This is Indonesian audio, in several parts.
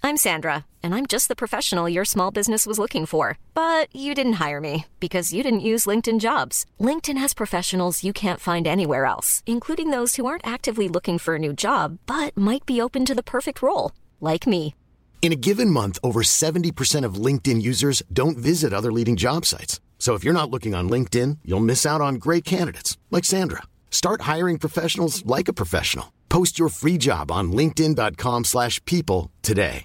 I'm Sandra, and I'm just the professional your small business was looking for. But you didn't hire me because you didn't use LinkedIn Jobs. LinkedIn has professionals you can't find anywhere else, including those who aren't actively looking for a new job, but might be open to the perfect role, like me. In a given month, over 70% of LinkedIn users don't visit other leading job sites. So if you're not looking on LinkedIn, you'll miss out on great candidates like Sandra. Start hiring professionals like a professional. Post your free job on linkedin.com/people today.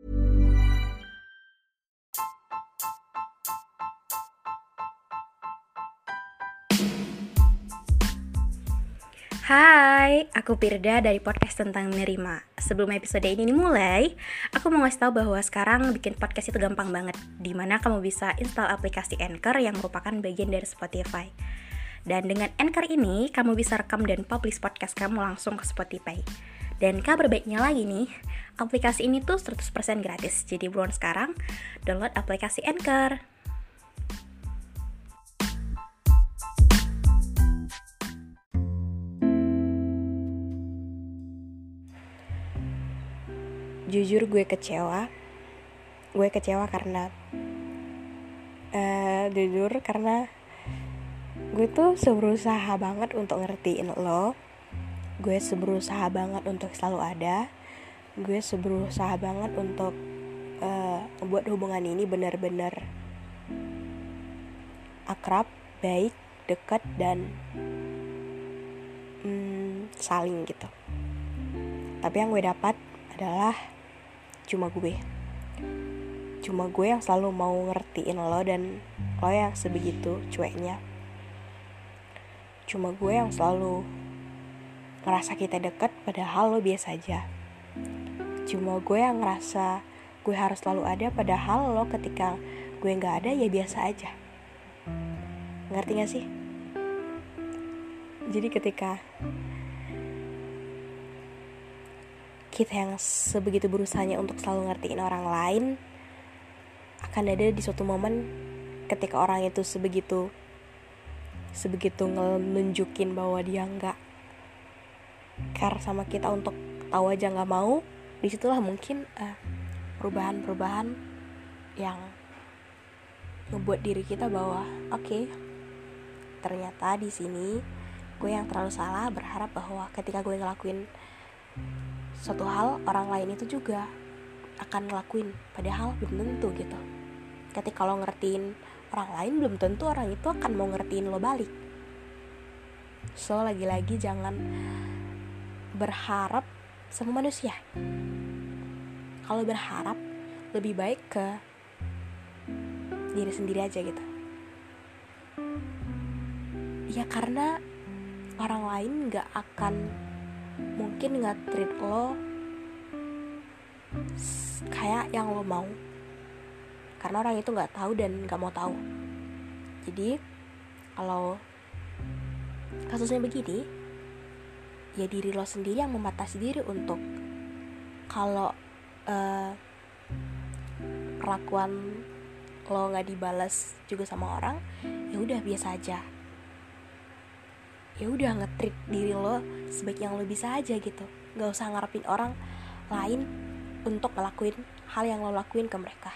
Hai, aku Pirda dari podcast tentang menerima. Sebelum episode ini dimulai, aku mau ngasih tahu bahwa sekarang bikin podcast itu gampang banget, dimana kamu bisa install aplikasi Anchor yang merupakan bagian dari Spotify. Dan dengan Anchor ini, kamu bisa rekam dan publish podcast kamu langsung ke Spotify. Dan kabar baiknya lagi nih, aplikasi ini tuh 100% gratis. Jadi buruan sekarang, download aplikasi Anchor. Jujur gue kecewa karena gue tuh berusaha banget untuk ngertiin lo. Gue berusaha banget untuk selalu ada. Gue berusaha banget untuk membuat hubungan ini benar-benar akrab, baik, dekat, dan saling gitu. Tapi yang gue dapat adalah cuma gue yang selalu mau ngertiin lo, dan lo yang sebegitu cueknya. Cuma gue yang selalu ngerasa kita deket padahal lo biasa aja. Cuma gue yang ngerasa gue harus selalu ada padahal lo ketika gue gak ada ya biasa aja. Ngerti gak sih? Jadi ketika kita yang sebegitu berusahanya untuk selalu ngertiin orang lain, akan ada di suatu momen ketika orang itu sebegitu nunjukin bahwa dia nggak care sama kita, untuk tahu aja nggak mau. Disitulah mungkin perubahan yang ngebuat diri kita bahwa oke, ternyata di sini gue yang terlalu salah berharap bahwa ketika gue ngelakuin suatu hal, orang lain itu juga akan ngelakuin, padahal belum tentu gitu. Ketika lo ngertiin orang lain, belum tentu orang itu akan mau ngertiin lo balik. So, lagi-lagi jangan berharap sama manusia. Kalau berharap, lebih baik ke diri sendiri aja gitu. Ya karena orang lain gak akan mungkin nge-treat lo kayak yang lo mau, karena orang itu gak tahu dan gak mau tahu. Jadi kalau kasusnya begini, ya diri lo sendiri yang membatasi diri untuk kalau perlakuan lo gak dibalas juga sama orang, ya udah biasa aja. Ya udah nge-treat diri lo sebaik yang lo bisa aja gitu. Gak usah ngarepin orang lain untuk ngelakuin hal yang lo lakuin ke mereka.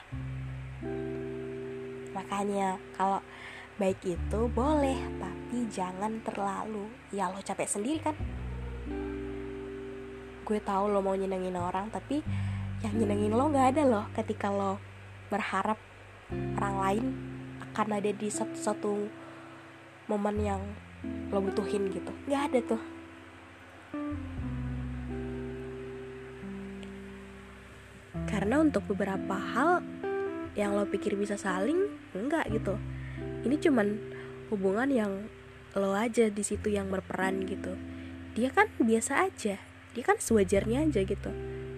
Makanya kalau baik itu boleh, tapi jangan terlalu. Ya lo capek sendiri kan. Gue tahu lo mau nyenengin orang, tapi yang nyenengin lo gak ada loh ketika lo berharap orang lain akan ada di satu momen yang lo butuhin gitu. Gak ada tuh. Karena untuk beberapa hal yang lo pikir bisa saling, enggak gitu. Ini cuman hubungan yang lo aja di situ yang berperan gitu. Dia kan biasa aja, dia kan sewajarnya aja gitu.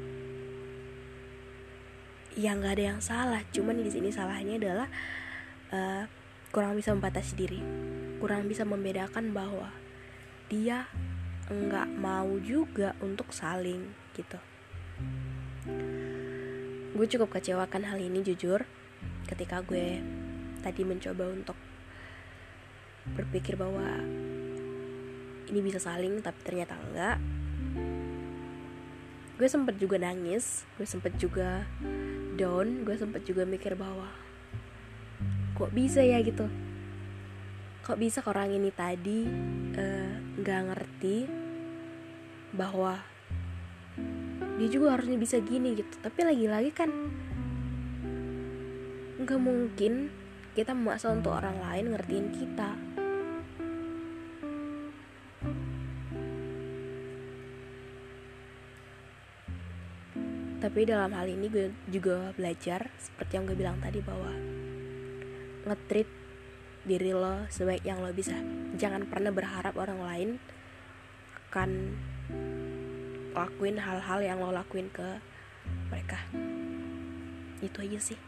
Ya nggak ada yang salah, cuman di sini salahnya adalah kurang bisa membatasi diri, kurang bisa membedakan bahwa dia nggak mau juga untuk saling gitu. Gue cukup kecewakan hal ini jujur, ketika gue tadi mencoba untuk berpikir bahwa ini bisa saling, tapi ternyata enggak. gue sempet juga nangis, gue sempet juga down, gue sempet juga mikir bahwa kok bisa ya gitu, kok bisa orang ini tadi gak ngerti bahwa dia juga harusnya bisa gini gitu. Tapi lagi-lagi kan gak mungkin kita memaksa untuk orang lain ngertiin kita. Tapi dalam hal ini gue juga belajar seperti yang gue bilang tadi, bahwa nge-treat diri lo sebaik yang lo bisa. Jangan pernah berharap orang lain akan lakuin hal-hal yang lo lakuin ke mereka. Itu aja sih.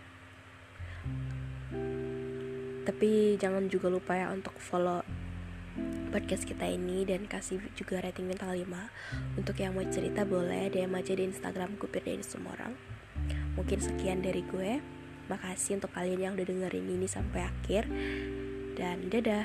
Tapi jangan juga lupa ya untuk follow podcast kita ini dan kasih juga rating bintang 5. Untuk yang mau cerita boleh DM aja di Instagram Kupirdain Semua Orang. Mungkin sekian dari gue. Makasih untuk kalian yang udah dengerin ini sampai akhir. Dan dadah.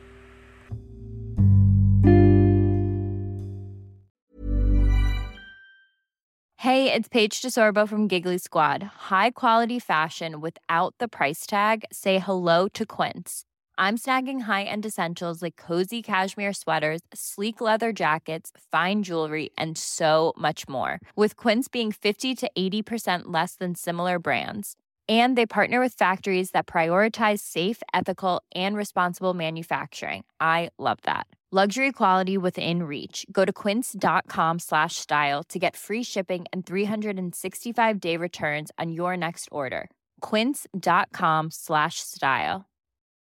Hey, it's Paige DeSorbo from Giggly Squad. High quality fashion without the price tag. Say hello to Quince. I'm snagging high-end essentials like cozy cashmere sweaters, sleek leather jackets, fine jewelry, and so much more. With Quince being 50 to 80% less than similar brands. And they partner with factories that prioritize safe, ethical, and responsible manufacturing. I love that. Luxury quality within reach. Go to quince.com/style to get free shipping and 365-day returns on your next order. Quince.com/style.